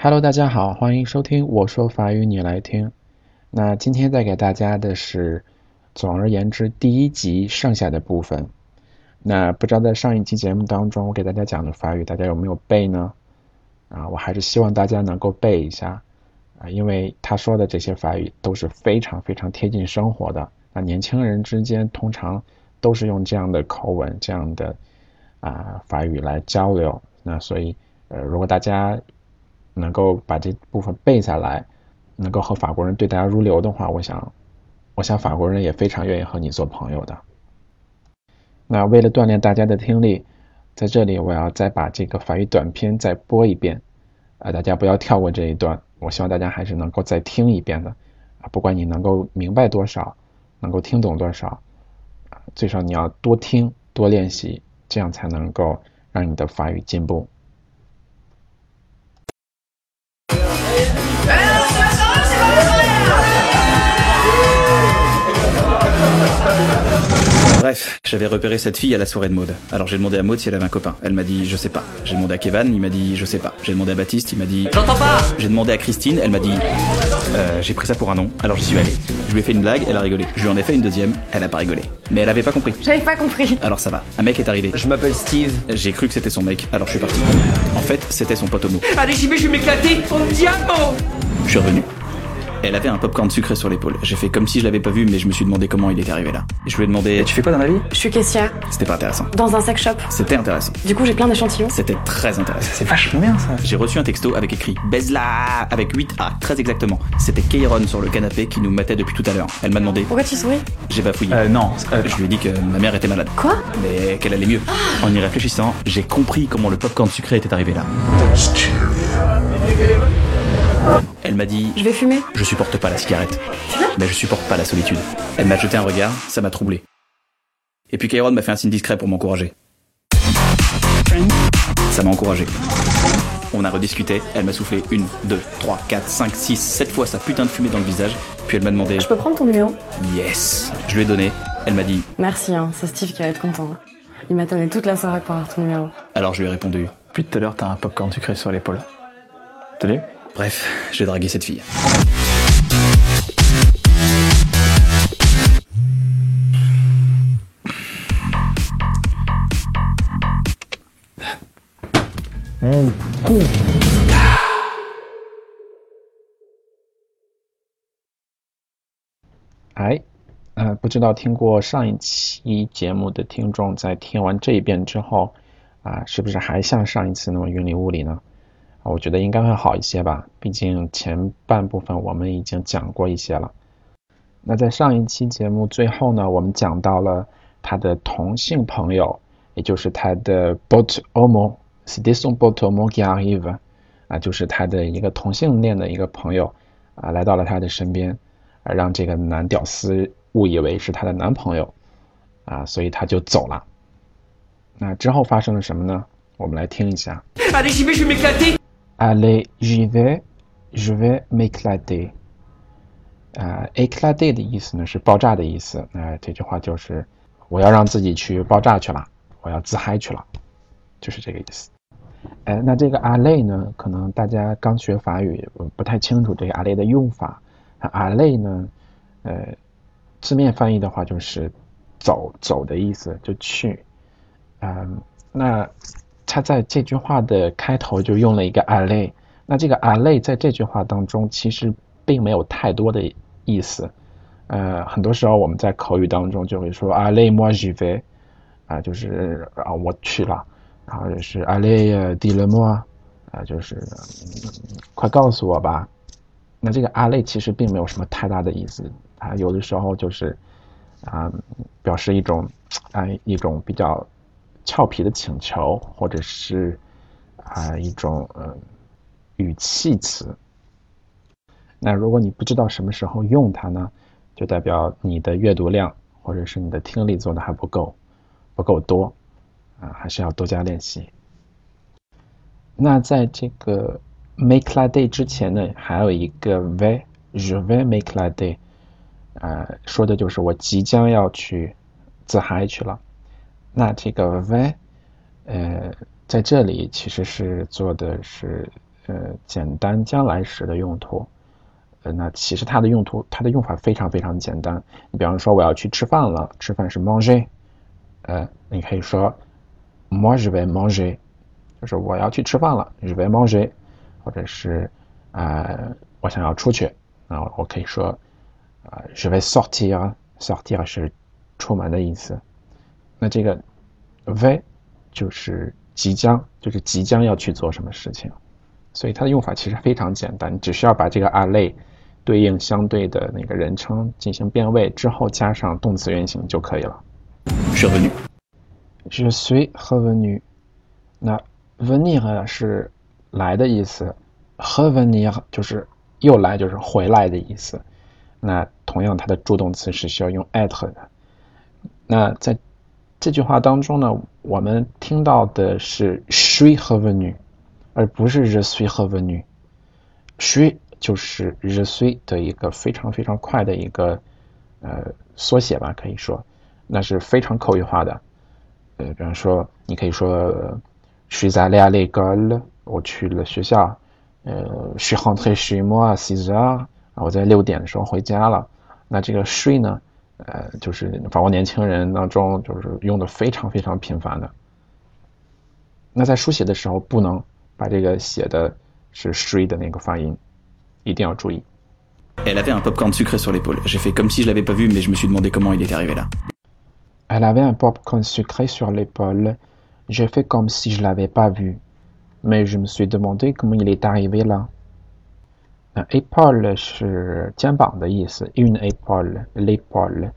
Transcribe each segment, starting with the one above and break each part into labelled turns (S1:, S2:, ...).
S1: Hello，大家好，欢迎收听我说法语你来听。那今天带给大家的是总而言之第一集剩下的部分。那不知道在上一期节目当中我给大家讲的法语大家有没有背呢？我还是希望大家能够背一下因为他说的这些法语都是非常非常贴近生活的。那年轻人之间通常都是用这样的口吻这样的法语来交流。那所以如果大家能够把这部分背下来，能够和法国人对答如流的话，我想法国人也非常愿意和你做朋友的。那为了锻炼大家的听力，在这里我要再把这个法语短篇再播一遍大家不要跳过这一段，我希望大家还是能够再听一遍的不管你能够明白多少，能够听懂多少最少你要多听多练习，这样才能够让你的法语进步。
S2: Bref, j'avais repéré cette fille à la soirée de Maud. Alors j'ai demandé à Maud si elle avait un copain. Elle m'a dit je sais pas. J'ai demandé à Kevin, il m'a dit je sais pas. J'ai demandé à Baptiste, il m'a dit j'entends pas. J'ai demandé à Christine, elle m'a dit j'ai pris ça pour un nom. Alors j'y suis allé. Je lui ai fait une blague, elle a rigolé. Je lui en ai fait une deuxième, elle a pas rigolé. Mais elle avait pas compris.
S3: J'avais pas compris.
S2: Alors ça va. Un mec est arrivé.
S4: Je m'appelle Steve.
S2: J'ai cru que c'était son mec, alors je suis parti. En fait, c'était son pote homo.
S4: Allez, j'y vais, je vais m'éclater. En diamant.
S2: Je suis revenu. Elle avait un popcorn sucré sur l'épaule. J'ai fait comme si je l'avais pas vu, mais je me suis demandé comment il était arrivé là. Et je lui ai demandé tu fais quoi dans la vie?
S3: Je suis caissière.
S2: C'était pas intéressant.
S3: Dans un sex shop.
S2: C'était intéressant.
S3: Du coup, j'ai plein d'échantillons.
S2: C'était très intéressant.
S4: C'est vachement bien ça.
S2: J'ai reçu un texto avec écrit baise-la avec 8A, très exactement. C'était Kairon sur le canapé qui nous matait depuis tout à l'heure. Elle m'a demandé
S3: Pourquoi tu souris?
S2: J'ai bafouillé.
S4: Non.
S2: Je lui ai dit que ma mère était malade.
S3: Quoi?
S2: Mais qu'elle allait mieux. En y réfléchissant, j'ai compris comment le popcorn sucré était arrivé là. Elle m'a dit
S3: Je vais fumer.
S2: je supporte pas la cigarette. Mais je supporte pas la solitude. Elle m'a jeté un regard, ça m'a troublé. Et puis Kairon m'a fait un signe discret pour m'encourager. Ça m'a encouragé. On a rediscuté, elle m'a soufflé 1, 2, 3, 4, 5, 6, 7 fois sa putain de fumée dans le visage. Puis elle m'a demandé
S3: Je peux prendre ton numéro?
S2: yes. Je lui ai donné, elle m'a dit
S3: Merci, c'est Steve qui va être content. Il m'a donné toute la soirée pour avoir ton numéro.
S2: alors je lui ai répondu.
S4: Depuis tout à l'heure, t'as un popcorn sucré sur l'épaule. T'as vu?
S2: Bref, j'ai dragué cette fille.
S1: 不知道听过上一期节目的听众在听完这一遍之后是不是还像上一次那么云里雾里呢？我觉得应该会好一些吧，毕竟前半部分我们已经讲过一些了。那在上一期节目最后呢，我们讲到了他的同性朋友，也就是他的 pote homo, c'était son pote homo qui arrive 就是他的一个同性恋的一个朋友来到了他的身边让这个男屌丝误以为是他的男朋友所以他就走了。那之后发生了什么呢？我们来听一下。
S4: Allez, j'y vais, je vais m'éclater.
S1: Allez, j'y vais, je vais m'éclater. éclater 的意思呢是爆炸的意思。这句话就是我要让自己去爆炸去了，我要自嗨去了，就是这个意思。那这个 aller 呢，可能大家刚学法语不太清楚这个 aller 的用法。aller 呢，字面翻译的话就是走的意思，就去。那他在这句话的开头就用了一个 aller， 那这个 aller 在这句话当中其实并没有太多的意思。很多时候我们在口语当中就会说 aller moi j'y vais 就是我去了，然后就是 aller dis-le moi 就是快告诉我吧。那这个 aller 其实并没有什么太大的意思，有的时候就是表示一种比较俏皮的请求，或者是一种语气词。那如果你不知道什么时候用它呢，就代表你的阅读量或者是你的听力做的还不够多还是要多加练习。那在这个 m'éclater 之前呢，还有一个 vais je vais m'éclater 说的就是我即将要去自嗨去了。那这个 vais 在这里其实是做的是简单将来时的用途。那其实它的用法非常非常简单。你比方说我要去吃饭了，吃饭是 manger，你可以说 moi je vais manger， 就是我要去吃饭了 je vais manger， 或者是我想要出去，那我可以说je vais sortir， sortir 是出门的意思。那这个 vais 就是即将要去做什么事情，所以它的用法其实非常简单，你只需要把这个 aller 对应相对的那个人称进行变位之后加上动词原形就可以了。
S2: Je suis revenu.
S1: Je suis revenu。 那 venir 是来的意思， revenir 就是又来，就是回来的意思。那同样它的助动词是需要用 être 的。那在这句话当中呢，我们听到的是 je suis revenu， 而不是 je suis revenu。 je suis 就是 je suis 的一个非常非常快的一个缩写吧，可以说那是非常口语化的。比方说你可以说je suis allé à l'école， 我去了学校。je suis rentré chez moi à 6 heures， 我在6点的时候回家了。那这个 suis 呢就是法国年轻人当中就是用的非常非常频繁的。那在书写的时候不能把这个写的是 suis 的那个发音，一定要注意。
S2: Elle avait un popcorn sucré sur l'épaule. J'ai fait comme si je l'avais pas vu, mais je me suis demandé comment il était arrivé là.
S1: Elle avait un popcorn sucré sur l'épaule. J'ai fait comme si je l'avais pas vu, mais je me suis demandé comment il est arrivé là. Épaule 是肩膀的意思， une épaule， l'épaule。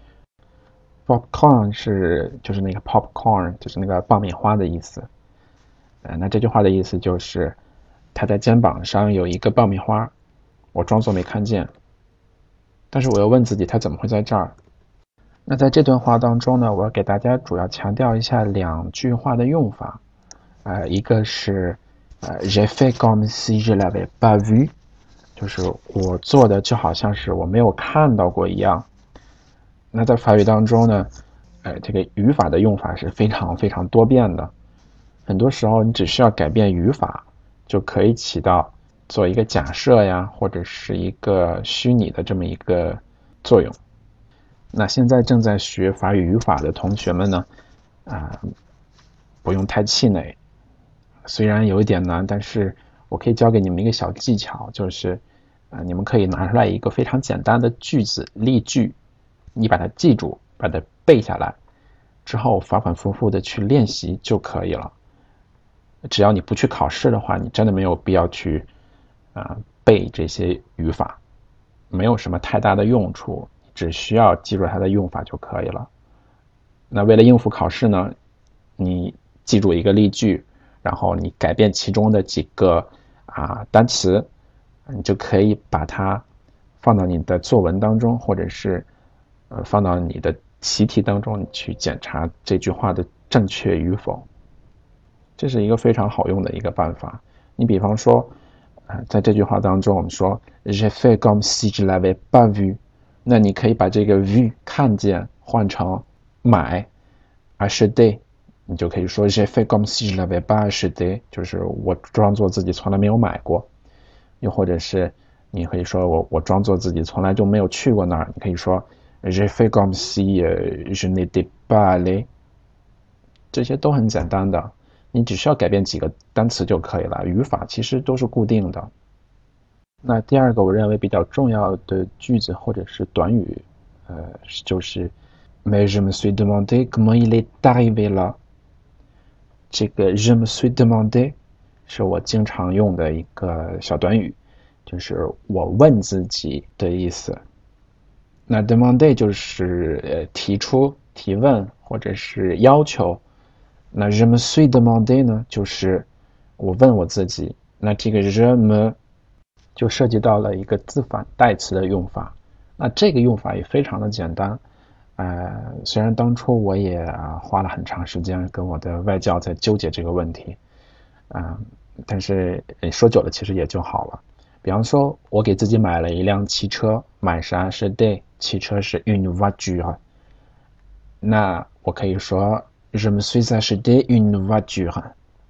S1: Popcorn 就是那个 popcorn， 就是那个爆米花的意思。那这句话的意思就是他在肩膀上有一个爆米花，我装作没看见，但是我又问自己他怎么会在这儿。那在这段话当中呢，我要给大家主要强调一下2句话的用法。一个是j'ai fait comme si je l'avais pas vu， 就是我做的就好像是我没有看到过一样。那在法语当中呢，这个语法的用法是非常非常多变的，很多时候你只需要改变语法就可以起到做一个假设呀，或者是一个虚拟的这么一个作用。那现在正在学法语语法的同学们呢，不用太气馁，虽然有一点难，但是我可以教给你们一个小技巧，就是你们可以拿出来一个非常简单的句子例句，你把它记住，把它背下来之后反反复复的去练习就可以了。只要你不去考试的话，你真的没有必要去背这些语法，没有什么太大的用处，只需要记住它的用法就可以了。那为了应付考试呢，你记住一个例句，然后你改变其中的几个单词，你就可以把它放到你的作文当中，或者是放到你的习题当中，你去检查这句话的正确与否。这是一个非常好用的一个办法。你比方说在这句话当中我们说 j'ai fait comme si je l'avais pas vu， 那你可以把这个 vu 看见换成买 acheter， 你就可以说 j'ai fait comme si je l'avais pas acheté， 就是我装作自己从来没有买过。又或者是你可以说我装作自己从来就没有去过那儿，你可以说 j'ai fait comme si je n'étais pas allé。 这些都很简单的，你只需要改变几个单词就可以了，语法其实都是固定的。那第二个我认为比较重要的句子或者是短语就是 mais je me suis demandé comment il est arrivé là。 这个 je me suis demandé 是我经常用的一个小短语，就是我问自己的意思。那 demander 就是提出提问或者是要求。那 je me suis demandé 呢，就是我问我自己。那这个 je me 就涉及到了一个自反代词的用法。那这个用法也非常的简单。虽然当初我也花了很长时间跟我的外教在纠结这个问题，但是说久了其实也就好了。比方说我给自己买了一辆汽车，买啥是 acheter， 汽车是 une voiture， 那我可以说je me suis acheté une voiture，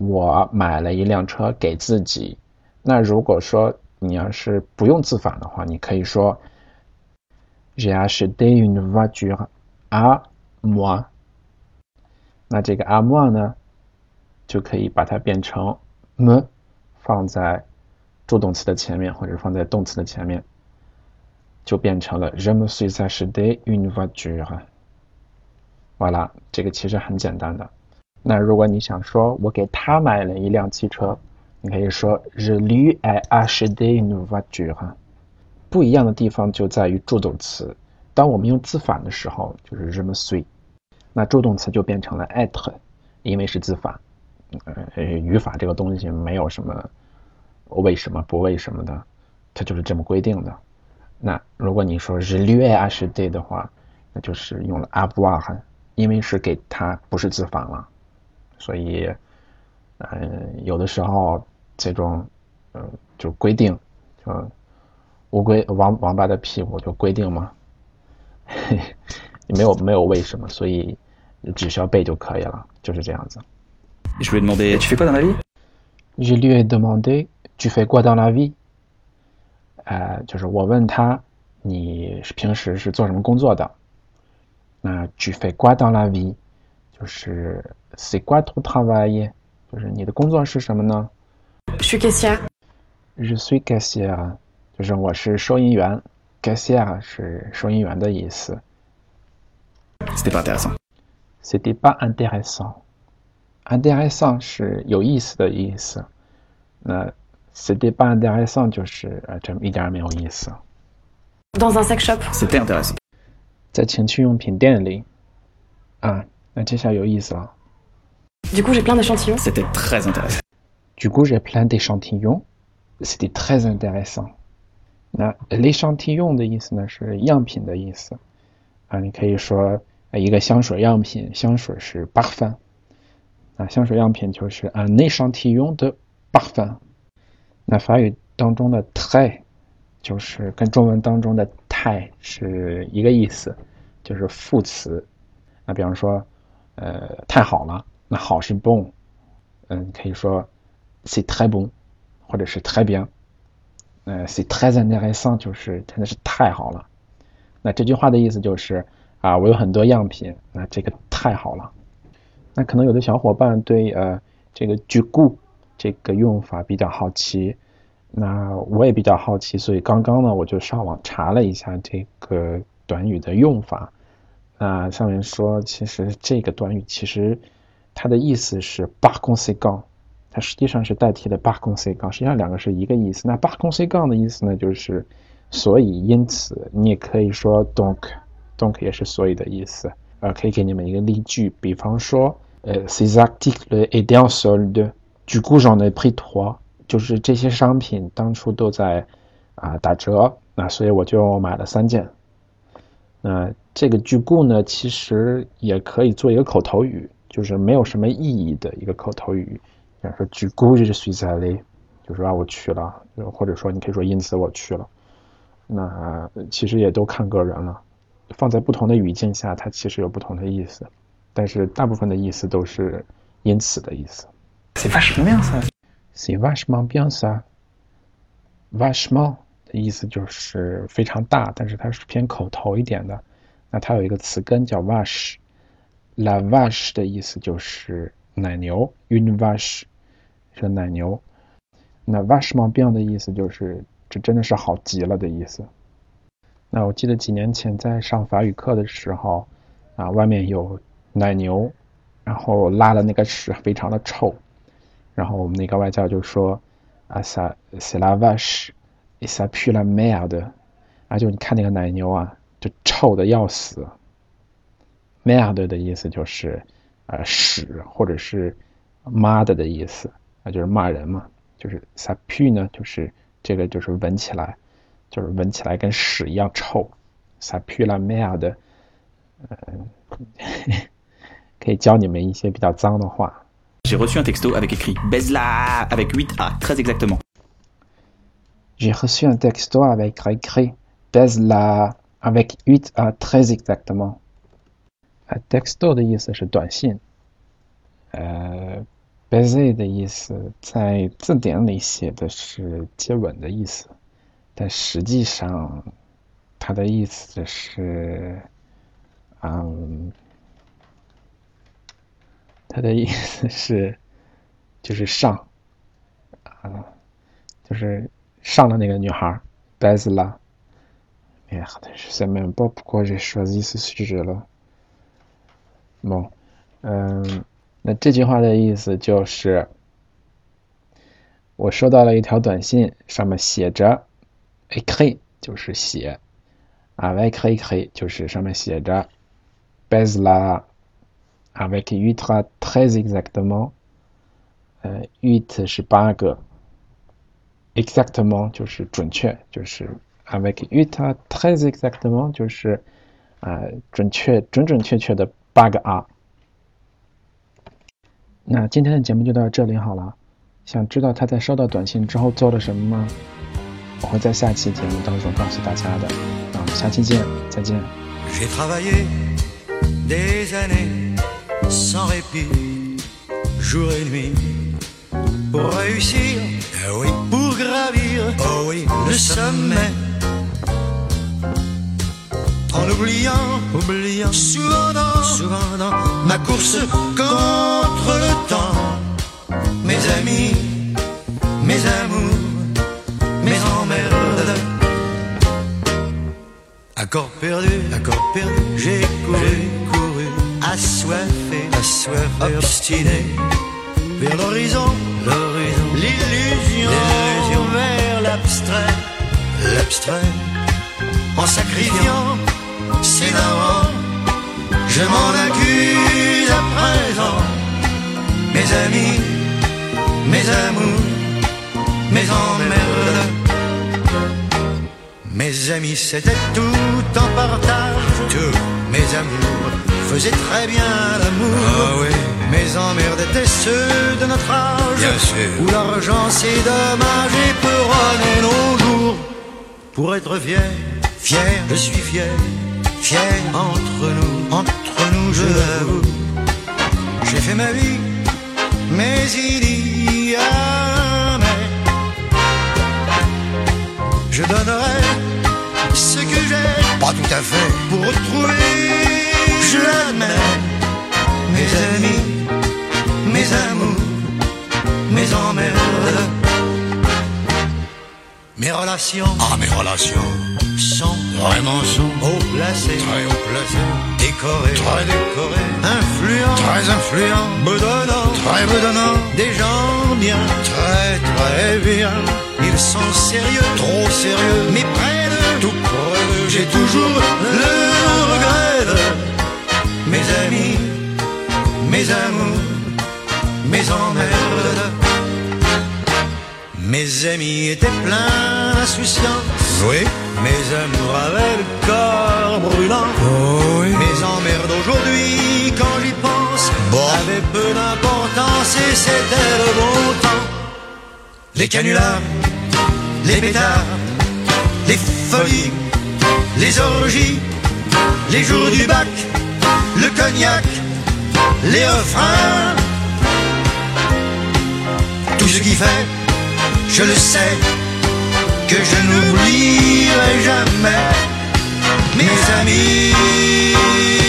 S1: 我买了一辆车给自己。那如果说你要是不用自反的话，你可以说 J'ai acheté une voiture à moi。那这个 à moi 呢，就可以把它变成 me， 放在助动词的前面，或者放在动词的前面，就变成了 Je me suis acheté une voiture。完了，这个其实很简单的。那如果你想说我给他买了一辆汽车，你可以说 Je lui ai acheté une voiture。不一样的地方就在于助动词。当我们用自反的时候，就是 Je me suis， 那助动词就变成了 être， 因为是自反。语法这个东西没有什么为什么不为什么的，它就是这么规定的。那如果你说 Je lui ai acheté 的话，那就是用了 avoir， 因为是给他，不是自反了。所以有的时候这种就规定，就乌龟王八的屁股就规定嘛，没有为什么，所以只需要背就可以了，就是这样子。
S2: Je lui ai demandé tu fais quoi dans la vie?
S1: Je lui ai demandé tu fais quoi dans la vie？ 就是我问他你平时是做什么工作的。那 tu fais quoi dans la vie？ 就是 c'est quoi ton travail？ 就是你的工作是什么呢？
S3: Je suis caissière.
S1: Je suis caissière， 就是我是收银员。caissière 是收银员的意思。
S2: C'était pas intéressant.
S1: C'était pas intéressant。intéressant 是有意思的意思。那 c'était pas intéressant 就是这一点没有意思。
S3: Dans un sex shop.
S2: C'était intéressant.
S1: 在情趣用品店里。那这下有意思了。
S3: Du coup, j'ai plein d'échantillons.
S2: C'était très intéressant.
S1: Du coup, j'ai plein d'échantillons. C'était très intéressant. 那 l'échantillon 的意思呢是样品的意思。你可以说一个香水样品，香水是 parfum。香水样品就是 un échantillon de parfum。那法语当中的 très 就是跟中文当中的太是一个意思，就是副词。那比方说太好了，那好是 bon， 可以说 c'est très bon， 或者是 très bien。c'est très intéressant 就是真的是太好了。那这句话的意思就是我有很多样品，那这个太好了。那可能有的小伙伴对这个 du coup 这个用法比较好奇，那我也比较好奇，所以刚刚呢我就上网查了一下这个短语的用法。那上面说其实这个短语其实它的意思是 par conséquent， 它实际上是代替了 par conséquent， 实际上两个是一个意思。那 par conséquent 的意思呢就是所以因此，你也可以说 donc 也是所以的意思。可以给你们一个例句，比方说ces articles étaient en solde， du coup j'en ai pris 3， 就是这些商品当初都在打折，那所以我就买了3件。那这个du coup呢其实也可以做一个口头语，就是没有什么意义的一个口头语。比方说 du coup je suis allé， 就是我去了，或者说你可以说因此我去了。那其实也都看个人了，放在不同的语境下它其实有不同的意思，但是大部分的意思都是因此的意思。
S4: C'est vachement bien ça.
S1: C'est vachement bien ça。 vachement 的意思就是非常大，但是它是偏口头一点的。那它有一个词根叫 vache， la vache 的意思就是奶牛， une vache 是奶牛。那 vachement bien 的意思就是这真的是好极了的意思。那我记得几年前在上法语课的时候外面有奶牛，然后拉的那个屎非常的臭，然后我们那个外教就说ça c'est la vache et ça pue la merde， 就你看那个奶牛就臭的要死。 merde 的意思就是屎或者是妈的意思，就是骂人嘛。就是 ça pue 呢就是这个就是闻起来，就是闻起来跟屎一样臭。ça pue la merde， 可以教你们一些比较脏的话。
S2: J'ai reçu un texto avec écrit baise-la avec 8A, très exactement.
S1: J'ai reçu un texto avec écrit baise-la avec 8A, très exactement。texto 的意思是短信 baiser 的意思在字典里写的是接吻的意思，但实际上它的意思是，它的意思是就是上，就是上的那个女孩 baise la。Merde, je sais même pas pourquoi j'ai choisi ce sujet là. Bon, 那这句话的意思就是，我收到了一条短信，上面写着 écrit 就是写，avec écrit 就是上面写着 baise la avec 8 très exactement， 8是8个 ，exactement 就是准确，就是 avec 8 très exactement 就是准确的8个 啊。那今天的节目就到这里好了。想知道他在收到短信之后做了什么吗？我会在下期节目当中告诉大家的。那我们下期见，再见。
S5: J'ai travaillé des années sans répit, jour et nuit, pour réussir, oui, pour gravir, oh oui, le sommet. En oubliant, souvent dans ma course contre le temps, mes amis, mes amours, mes emmerdes. Accord perdu, j'ai couru, assoiffé, obstiné, vers l'horizon, l'illusion, vers l'abstrait, en sacrifiant ses darons, je m'en accuse à présent. Mes amis, mes amours, mes emmerdes. Mes amis c'était tout en partage, tout. Mes amours faisaient très bien l'amour, ah oui. Mes emmerdes étaient ceux de notre âge, bien sûr, où l'argent c'est dommage et peut runner nos jours. Pour être fier, je suis fier entre nous, je l'avoue. J'ai fait ma vie, mais il y a mais. Je donnerai ce que j'ai, pas tout à fait, pour retrouver, je l'admets, mes amis, mes amours, mes emmerdes. Mes relations sont haut placées, très haut placées, décorées, très décorées, influents, très influents, bedonnants, très bedonnants, des gens bien, très très bien. Ils sont sérieux, trop sérieux, mais près de tout près d'eux, j'ai toujours le regret de mes amis, mes amours, mes emmerdes. Mes amis étaient pleins d'insouciance, oui. Mes amours avaient le corps brûlant, oh oui. Mes emmerdes aujourd'hui, quand j'y pense, bon, avaient peu d'importance et c'était le bon temps. Les canulars, les pétards, les folies, les orgies, les jours du bac, le cognac, les refrains, tout ce qui fait, je le sais, que je n'oublierai jamais mes amis.